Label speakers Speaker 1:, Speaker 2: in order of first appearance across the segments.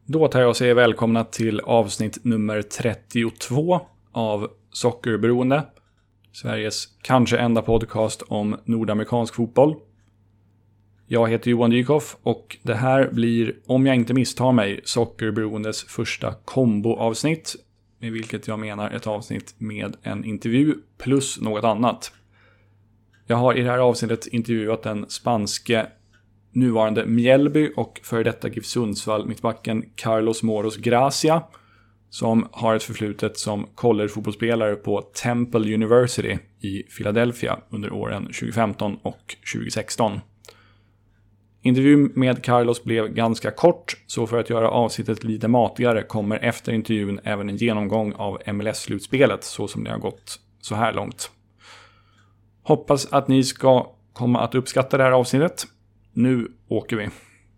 Speaker 1: Då tar jag och säger välkomna till avsnitt nummer 32 av Sockerberoende. Sveriges kanske enda podcast om nordamerikansk fotboll. Jag heter Johan Dykhoff och det här blir, om jag inte misstar mig, Sockerberoendes första komboavsnitt. Med vilket jag menar ett avsnitt med en intervju plus något annat. Jag har i det här avsnittet intervjuat den spanske nuvarande Mjällby och före detta GIF Sundsvall mittbacken Carlos Moros Gracia, som har ett förflutet som collegefotbollsspelare på Temple University i Philadelphia under åren 2015 och 2016. Intervjun med Carlos blev ganska kort, så för att göra avsnittet lite matigare kommer efter intervjun även en genomgång av MLS-slutspelet så som det har gått så här långt. Hoppas att ni ska komma att uppskatta det här avsnittet. Nu åker vi.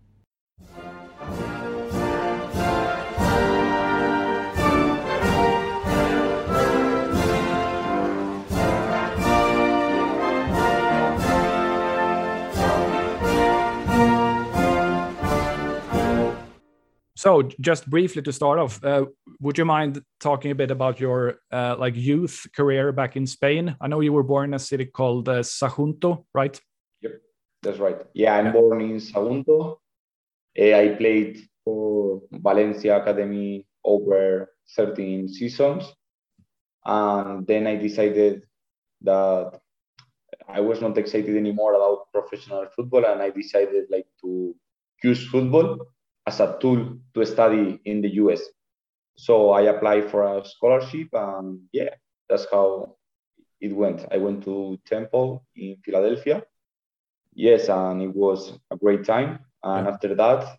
Speaker 1: So, just briefly to start off, would you mind talking a bit about your youth career back in Spain? I know you were born in a city called Sagunto, right?
Speaker 2: Yep, that's right. Yeah, I'm born in Sagunto. I played for Valencia Academy over 13 seasons. And then I decided that I was not excited anymore about professional football, and I decided to use football as a tool to study in the US. So I applied for a scholarship, and yeah, that's how it went. I went to Temple in Philadelphia. Yes, and it was a great time. And after that,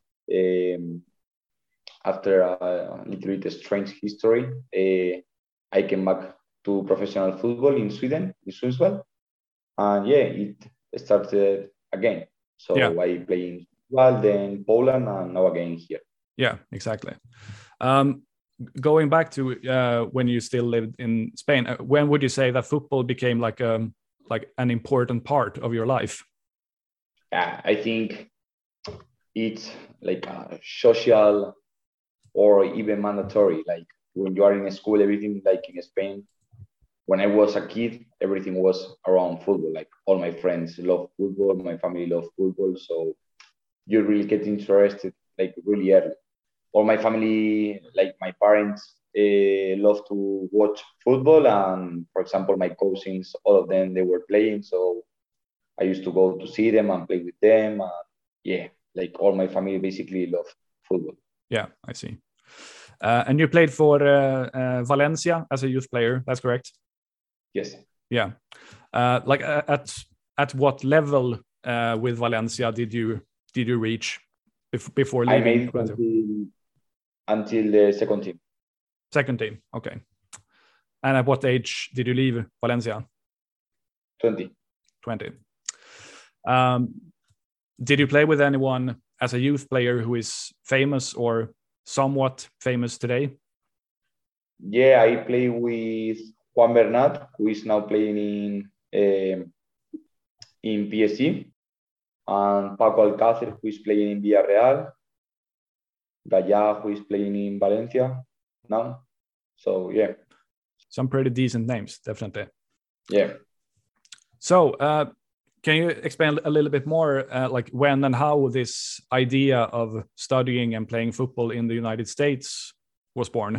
Speaker 2: after a little bit strange history, I came back to professional football in Sweden, in Sundsvall. And yeah, it started again. So I play in then Poland, and now again here.
Speaker 1: Yeah, exactly. Going back to when you still lived in Spain, when would you say that football became like an important part of your life?
Speaker 2: I think it's like a social or even mandatory. Like when you are in school, everything like in Spain. When I was a kid, everything was around football. Like all my friends love football, my family love football, so you really get interested like really early. All my family, like my parents, love to watch football, and for example, my cousins, all of them, they were playing, so I used to go to see them and play with them. Yeah, like all my family basically love football.
Speaker 1: Yeah, I see. And you played for Valencia as a youth player, that's correct?
Speaker 2: Yes.
Speaker 1: Yeah. At what level with Valencia did you reach before leaving?
Speaker 2: I made until the second team.
Speaker 1: Second team, okay. And at what age did you leave Valencia?
Speaker 2: 20.
Speaker 1: Did you play with anyone as a youth player who is famous or somewhat famous today?
Speaker 2: Yeah, I play with Juan Bernat, who is now playing in PSG. And Paco Alcácer, who is playing in Villarreal, Gaya, who is playing in Valencia now. So, yeah.
Speaker 1: Some pretty decent names, definitely.
Speaker 2: Yeah.
Speaker 1: So, can you explain a little bit more, like when and how this idea of studying and playing football in the United States was born?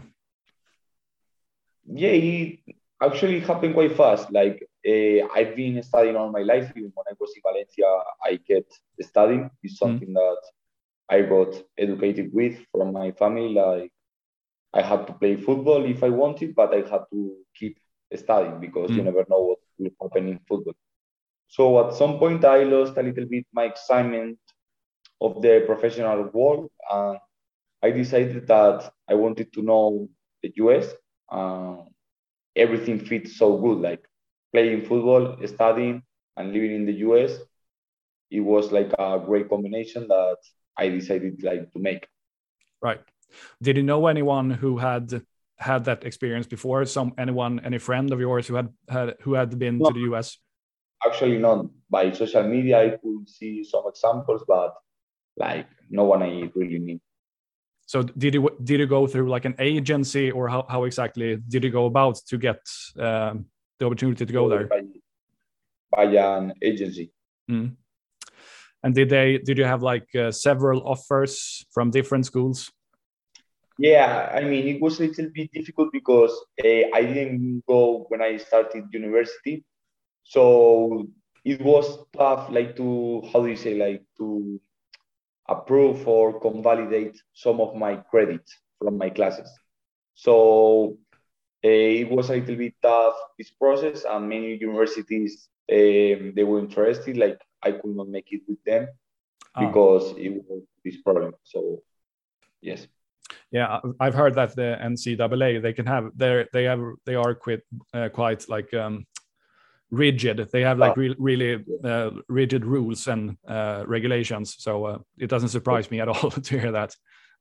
Speaker 2: Yeah, it actually happened quite fast. Like, I've been studying all my life. Even when I was in Valencia, I kept studying. It's something that I got educated with from my family. Like, I had to play football if I wanted, but I had to keep studying because you never know what will happen in football. So at some point, I lost a little bit my excitement of the professional world, and I decided that I wanted to know the US. Everything fits so good, like playing football, studying, and living in the US. It was like a great combination that I decided to make.
Speaker 1: Right. Did you know anyone who had that experience before? Any friend of yours who had been to the US?
Speaker 2: Actually, not. By social media, I could see some examples, but no one I really knew.
Speaker 1: So did you go through like an agency, or how exactly did you go about to get the opportunity to go there?
Speaker 2: By an agency.
Speaker 1: Mm. And did you have like several offers from different schools?
Speaker 2: Yeah, I mean, it was a little bit difficult because I didn't go when I started university. So it was tough, like to, how do you say, like to approve or convalidate some of my credits from my classes. So it was a little bit tough, this process, and many universities, they were interested, like I could not make it with them because it was this problem. So, yes.
Speaker 1: Yeah, I've heard that the NCAA they are quite like rigid. They have like really rigid rules and regulations. So it doesn't surprise me at all to hear that.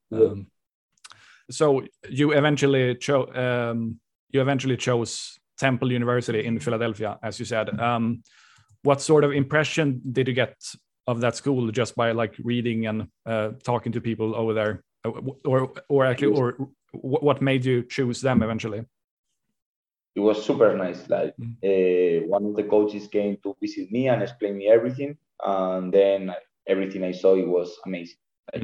Speaker 1: So you eventually chose Temple University in Philadelphia, as you said. What sort of impression did you get of that school just by like reading and talking to people over there? Or what made you choose them eventually?
Speaker 2: It was super nice. Like one of the coaches came to visit me and explain me everything, and then everything I saw, it was amazing.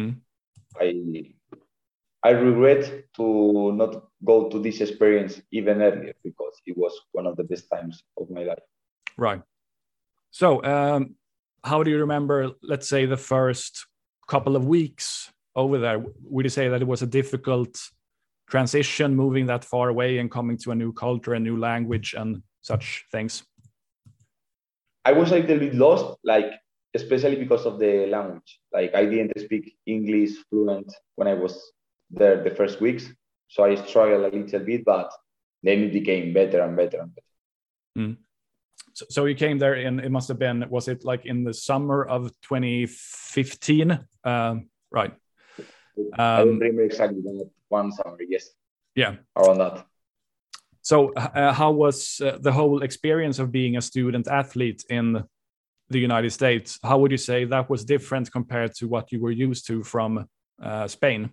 Speaker 2: Like, I regret to not go to this experience even earlier because it was one of the best times of my life.
Speaker 1: Right. So, how do you remember, let's say, the first couple of weeks over there? Would you say that it was a difficult transition moving that far away and coming to a new culture, a new language and such things?
Speaker 2: I was a little bit lost, like, especially because of the language. Like, I didn't speak English fluent when I was there the first weeks. So I struggled a little bit, but then it became better and better and better.
Speaker 1: So you came there in, it must have been, was it like in the summer of 2015? Right.
Speaker 2: I don't remember exactly one summer, yes.
Speaker 1: Yeah.
Speaker 2: Around that.
Speaker 1: So how was the whole experience of being a student athlete in the United States? How would you say that was different compared to what you were used to from Spain?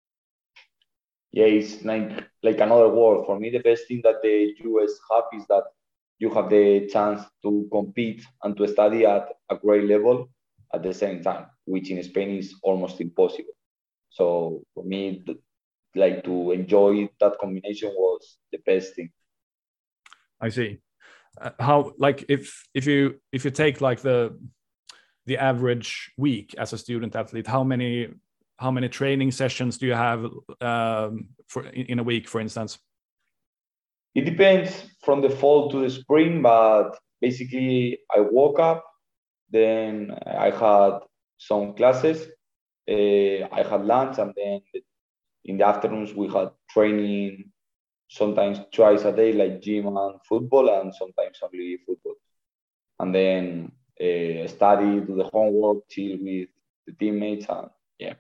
Speaker 2: Yeah, it's like another world. For me, the best thing that the US have is that you have the chance to compete and to study at a great level at the same time, which in Spain is almost impossible. So for me, like to enjoy that combination was the best thing.
Speaker 1: I see. How, like, if you take like the average week as a student athlete, how many training sessions do you have in a week, for instance?
Speaker 2: It depends from the fall to the spring, but basically I woke up, then I had some classes, I had lunch, and then in the afternoons we had training, sometimes twice a day, like gym and football, and sometimes only football. And then study, do the homework, chill with the teammates, and yeah.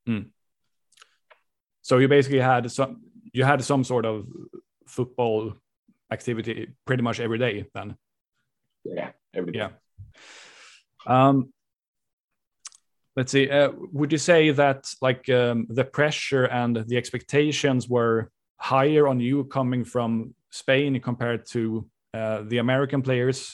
Speaker 1: So you basically had some sort of football activity pretty much every day then?
Speaker 2: Yeah, every day.
Speaker 1: Yeah. Let's see. Would you say that like the pressure and the expectations were higher on you coming from Spain compared to the American players?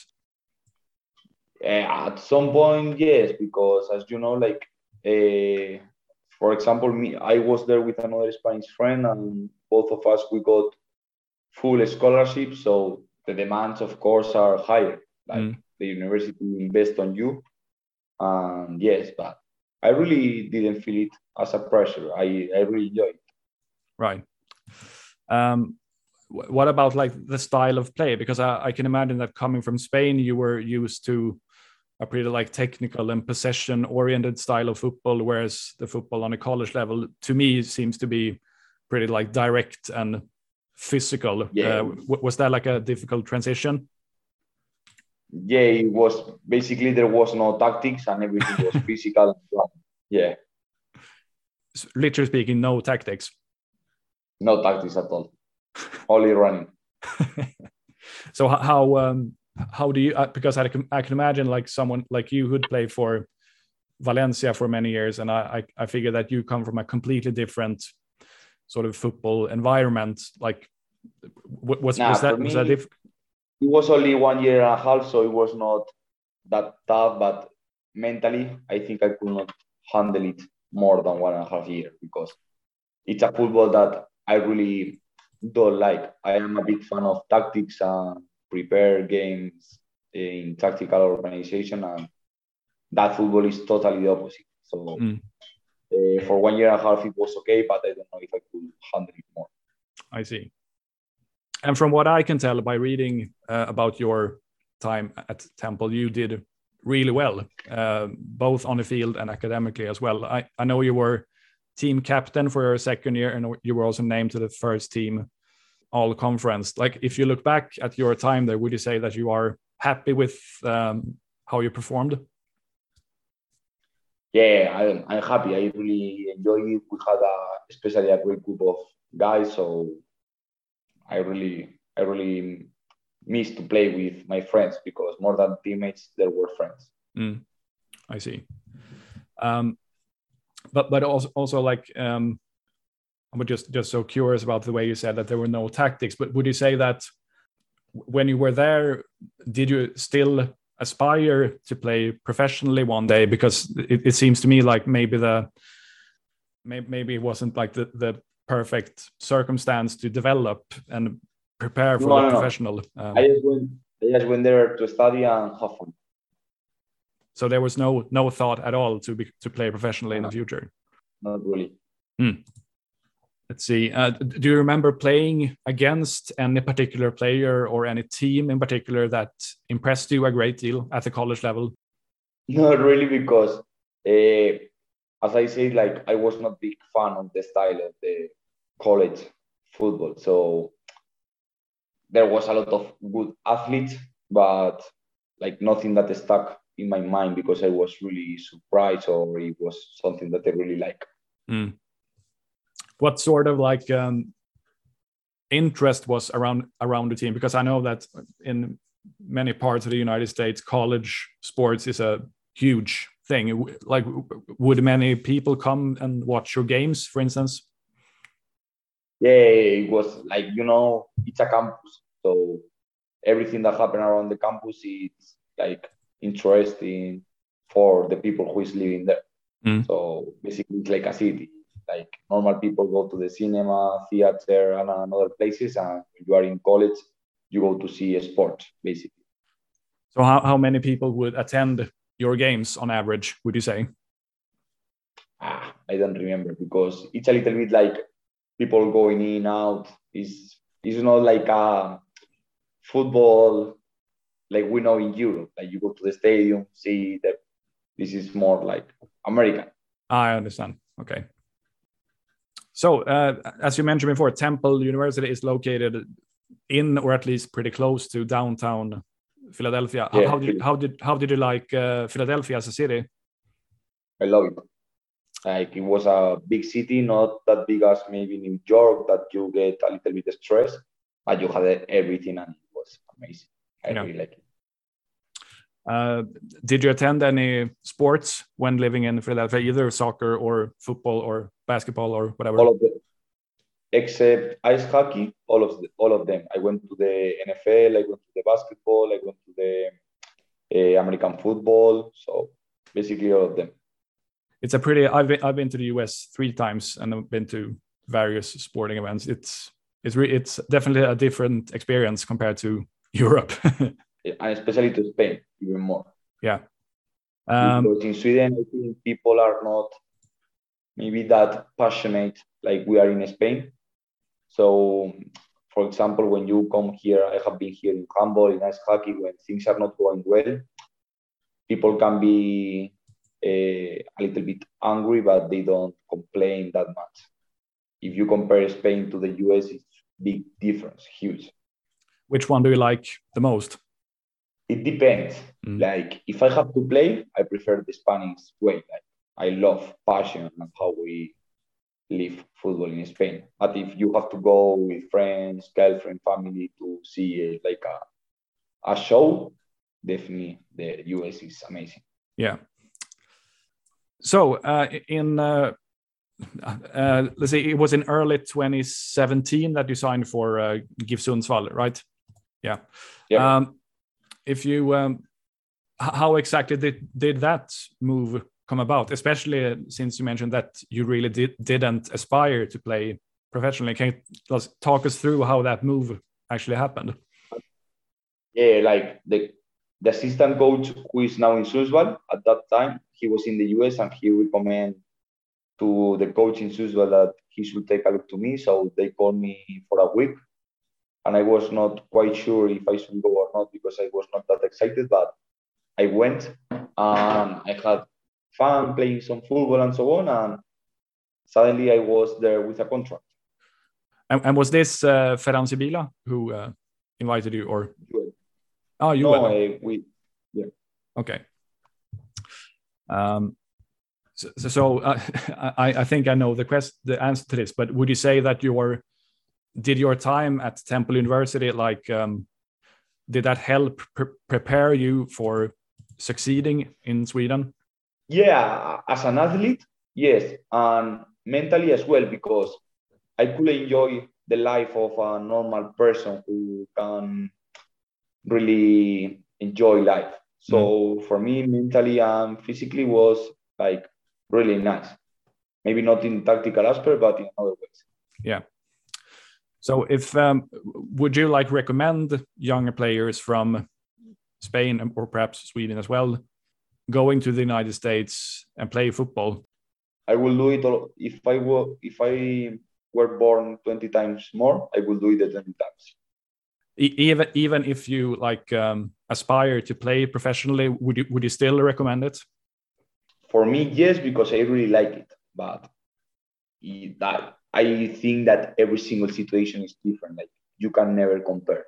Speaker 2: At some point, yes, because as you know, like for example, I was there with another Spanish friend, and both of us we got full scholarship. So the demands, of course, are higher. Like the university invest on you, and yes, but I really didn't feel it as a pressure. I really enjoyed it.
Speaker 1: Right. What about like the style of play? Because I can imagine that coming from Spain, you were used to a pretty like technical and possession oriented style of football, whereas the football on a college level to me seems to be pretty like direct and physical.
Speaker 2: Yeah.
Speaker 1: Was that like a difficult transition?
Speaker 2: Yeah, it was basically there was no tactics and everything was physical. Yeah.
Speaker 1: Literally speaking, no tactics.
Speaker 2: No tactics at all. Only running.
Speaker 1: So how do you? Because I can imagine like someone like you who'd play for Valencia for many years, and I figure that you come from a completely different sort of football environment. Like, was that
Speaker 2: it was only 1 year and a half, so it was not that tough. But mentally, I think I could not handle it more than 1.5 years because it's a football that I really don't like. I am a big fan of tactics and prepare games in tactical organization, and that football is totally the opposite. So for 1 year and a half, it was okay, but I don't know if I could handle it more.
Speaker 1: I see. And from what I can tell by reading about your time at Temple, you did really well, both on the field and academically as well. I know you were team captain for your second year, and you were also named to the first team all conference. Like, if you look back at your time there, would you say that you are happy with how you performed?
Speaker 2: Yeah, I'm happy. I really enjoyed it. We had especially a great group of guys, so I really miss to play with my friends because more than teammates, there were friends.
Speaker 1: I see. But also like I'm just so curious about the way you said that there were no tactics. But would you say that when you were there, did you still aspire to play professionally one day? Because it seems to me like maybe it wasn't like the perfect circumstance to develop and prepare for the professional.
Speaker 2: I just went there to study and have fun.
Speaker 1: So there was no thought at all to play professionally in the future.
Speaker 2: Not really.
Speaker 1: Let's see. Do you remember playing against any particular player or any team in particular that impressed you a great deal at the college level?
Speaker 2: Not really, because as I said, like I was not big fan of the style of the college football. So there was a lot of good athletes, but like nothing that stuck in my mind because I was really surprised or it was something that I really like.
Speaker 1: What sort of like interest was around the team? Because I know that in many parts of the United States, college sports is a huge thing. Like, would many people come and watch your games, for instance?
Speaker 2: Yeah, it was like, it's a campus. So everything that happened around the campus is like interesting for the people who is living there. So basically it's like a city. Like normal people go to the cinema, theater, and other places. And when you are in college, you go to see a sport, basically.
Speaker 1: So how many people would attend your games on average, would you say?
Speaker 2: I don't remember because it's a little bit like people going in, out. It's not like a football like we know in Europe. Like you go to the stadium, see that this is more like American.
Speaker 1: I understand. Okay. So as you mentioned before, Temple University is located in, or at least pretty close to, downtown Philadelphia. Yeah. How did you like Philadelphia as a city?
Speaker 2: I love it. Like it was a big city, not that big as maybe New York, that you get a little bit stressed, but you had everything and it was amazing. I really like it.
Speaker 1: Did you attend any sports when living in Philadelphia, either soccer or football or basketball or whatever?
Speaker 2: All of them, except ice hockey. All of them. I went to the NFL. I went to the basketball. I went to the American football. So basically, all of them.
Speaker 1: It's a pretty. I've been to the US 3 times and I've been to various sporting events. It's definitely a different experience compared to Europe.
Speaker 2: And especially to Spain, even more.
Speaker 1: Yeah.
Speaker 2: Because in Sweden, I think people are not maybe that passionate like we are in Spain. So, for example, when you come here, I have been here in handball, in ice hockey, when things are not going well, people can be a little bit angry, but they don't complain that much. If you compare Spain to the US, it's big difference, huge.
Speaker 1: Which one do you like the most?
Speaker 2: It depends. Like if I have to play, I prefer the Spanish way. Like I love passion and how we live football in Spain. But if you have to go with friends, girlfriend, family to see like a show, definitely the US is amazing.
Speaker 1: Yeah. So let's say it was in early 2017 that you signed for GIF Sundsvall, right? Yeah. If you, how exactly did that move come about? Especially since you mentioned that you really didn't aspire to play professionally. Can you talk us through how that move actually happened?
Speaker 2: Yeah, like the assistant coach who is now in Sundsvall, at that time he was in the US, and he recommended to the coach in Sundsvall that he should take a look to me. So they called me for a week, and I was not quite sure if I should go or not because I was not that excited, but I went and I had fun playing some football and so on, and suddenly I was there with a contract.
Speaker 1: And was this Ferran Sibila who invited you, or? Oh, you
Speaker 2: no,
Speaker 1: were.
Speaker 2: Yeah.
Speaker 1: Okay. So I think I know the answer to this, but would you say that did your time at Temple University, like, did that help prepare you for succeeding in Sweden?
Speaker 2: Yeah, as an athlete, yes, and mentally as well, because I could enjoy the life of a normal person who can really enjoy life. So for me, mentally and physically was like really nice. Maybe not in tactical aspect, but in other ways.
Speaker 1: Yeah. So if would you like recommend younger players from Spain or perhaps Sweden as well going to the United States and play football?
Speaker 2: I will do it if I were born 20 times more, I will do it 20 times.
Speaker 1: Even if you like aspire to play professionally, would you still recommend it?
Speaker 2: For me, yes, because I really like it. But I think that every single situation is different. Like you can never compare.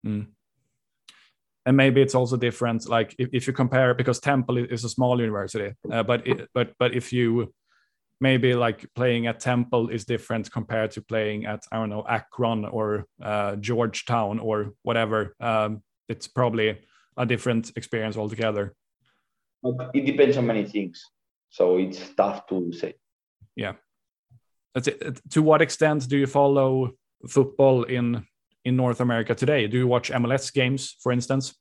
Speaker 1: And maybe it's also different. Like if you compare, because Temple is a small university, but if you maybe like playing at Temple is different compared to playing at, I don't know, Akron or Georgetown or whatever. It's probably a different experience altogether.
Speaker 2: It depends on many things, so it's tough to say.
Speaker 1: Yeah. That's it. To what extent do you follow football in North America today? Do you watch MLS games, for instance?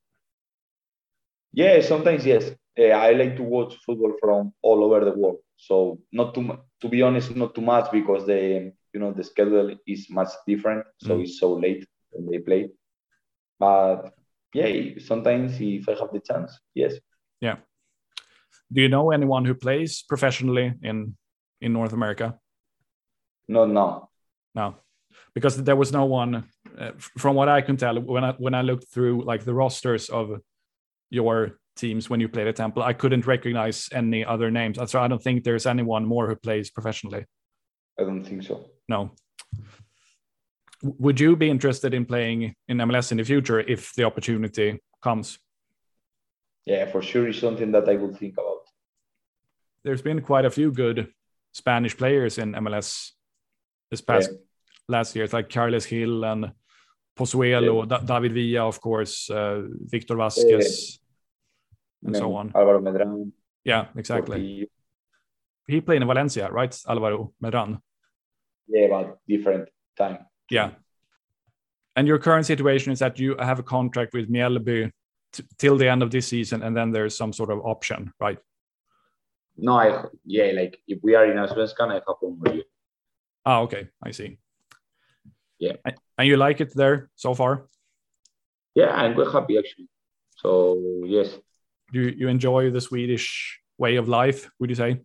Speaker 2: Yeah, sometimes yes. I like to watch football from all over the world. So not to be honest, not too much because the schedule is much different. So it's so late when they play. But yeah, sometimes if I have the chance, yes.
Speaker 1: Yeah. Do you know anyone who plays professionally in North America?
Speaker 2: No.
Speaker 1: Because there was no one, from what I can tell, when I looked through like the rosters of your teams when you played at Temple, I couldn't recognize any other names. So I don't think there's anyone more who plays professionally.
Speaker 2: I don't think so.
Speaker 1: No. Would you be interested in playing in MLS in the future if the opportunity comes?
Speaker 2: Yeah, for sure, it's something that I would think about.
Speaker 1: There's been quite a few good Spanish players in MLS this past last year. It's like Carles Gil and Pozuelo, David Villa, of course, Victor Vasquez, and so on.
Speaker 2: Alvaro Medran.
Speaker 1: Yeah, exactly. He played in Valencia, right, Alvaro Medran?
Speaker 2: Yeah, but different time.
Speaker 1: Yeah. And your current situation is that you have a contract with Mjällby till the end of this season, and then there's some sort of option, right?
Speaker 2: No, like if we are in Allsvenskan, I have 1 more year.
Speaker 1: Okay, I see.
Speaker 2: Yeah.
Speaker 1: And you like it there so far?
Speaker 2: Yeah, I'm quite happy actually. So yes.
Speaker 1: Do you enjoy the Swedish way of life, would you say?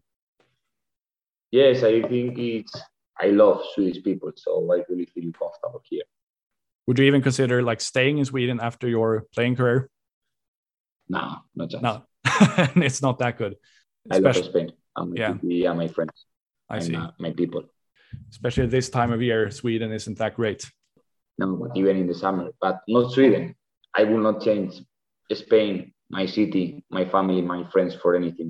Speaker 2: Yes, I think I love Swedish people, so I really feel comfortable here.
Speaker 1: Would you even consider like staying in Sweden after your playing career?
Speaker 2: No, not just.
Speaker 1: No, it's not that good.
Speaker 2: I love Spain. My friends.
Speaker 1: I see.
Speaker 2: My people.
Speaker 1: Especially this time of year, Sweden isn't that great.
Speaker 2: No, but even in the summer. But not Sweden. I will not change Spain, my city, my family, my friends for anything.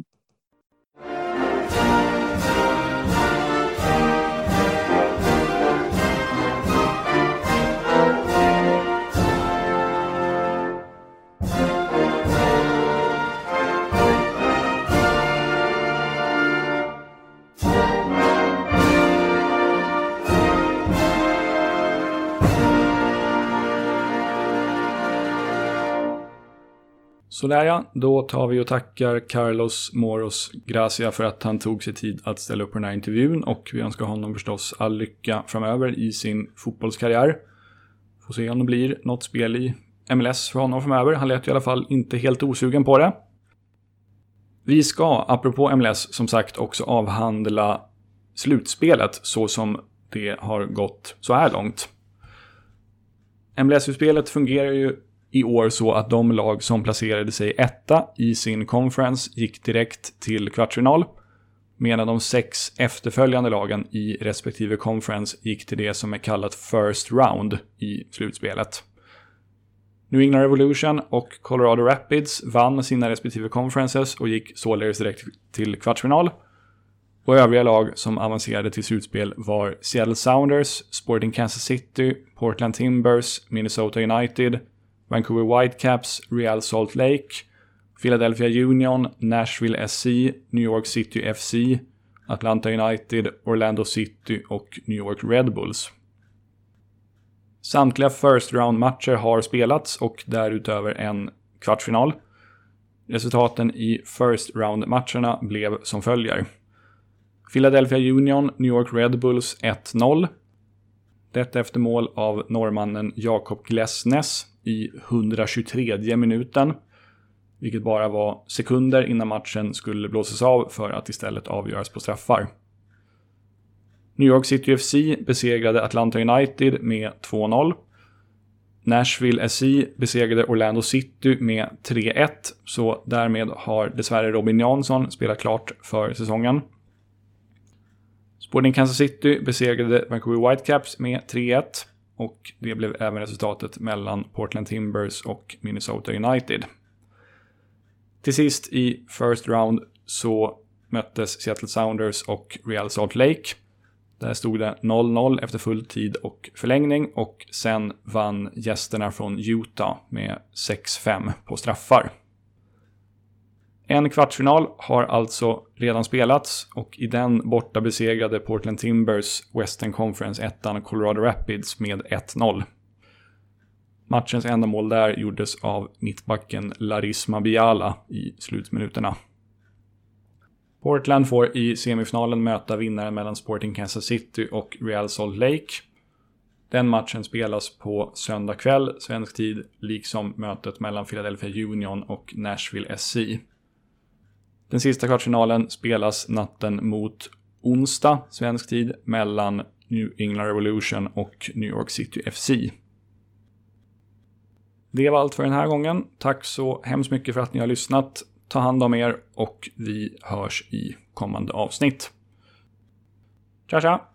Speaker 1: Sådär ja, då tar vi och tackar Carlos Moros Gracia för att han tog sig tid att ställa upp på den här intervjun, och vi önskar honom förstås all lycka framöver i sin fotbollskarriär. Får se om det blir något spel i MLS för honom framöver. Han lät i alla fall inte helt osugen på det. Vi ska, apropå MLS, som sagt också avhandla slutspelet så som det har gått så här långt. MLS-utspelet fungerar ju i år så att de lag som placerade sig etta i sin conference gick direkt till kvartsfinal, medan de 6 efterföljande lagen i respektive conference gick till det som är kallat first round i slutspelet. New England Revolution och Colorado Rapids vann sina respektive conferences och gick således direkt till kvartsfinal. Och övriga lag som avancerade till slutspel var Seattle Sounders, Sporting Kansas City, Portland Timbers, Minnesota United, Vancouver Whitecaps, Real Salt Lake, Philadelphia Union, Nashville SC, New York City FC, Atlanta United, Orlando City och New York Red Bulls. Samtliga first round-matcher har spelats och därutöver en kvartsfinal. Resultaten i first round-matcherna blev som följer. Philadelphia Union, New York Red Bulls 1-0. Detta efter mål av norrmannen Jakob Glesnes i 123 minuten. Vilket bara var sekunder innan matchen skulle blåsas av för att istället avgöras på straffar. New York City FC besegrade Atlanta United med 2-0. Nashville SC besegrade Orlando City med 3-1. Så därmed har dessvärre Robin Jansson spelat klart för säsongen. Sporting Kansas City besegrade Vancouver Whitecaps med 3-1. Och det blev även resultatet mellan Portland Timbers och Minnesota United. Till sist i first round så möttes Seattle Sounders och Real Salt Lake. Där stod det 0-0 efter full tid och förlängning, och sen vann gästerna från Utah med 6-5 på straffar. En kvartsfinal har alltså redan spelats, och i den borta besegrade Portland Timbers Western Conference 1 Colorado Rapids med 1-0. Matchens enda mål där gjordes av mittbacken Larisma Biala i slutminuterna. Portland får i semifinalen möta vinnaren mellan Sporting Kansas City och Real Salt Lake. Den matchen spelas på söndag kväll, svensk tid, liksom mötet mellan Philadelphia Union och Nashville SC. Den sista kvartsfinalen spelas natten mot onsdag, svensk tid, mellan New England Revolution och New York City FC. Det var allt för den här gången. Tack så hemskt mycket för att ni har lyssnat. Ta hand om er och vi hörs i kommande avsnitt. Tja tja!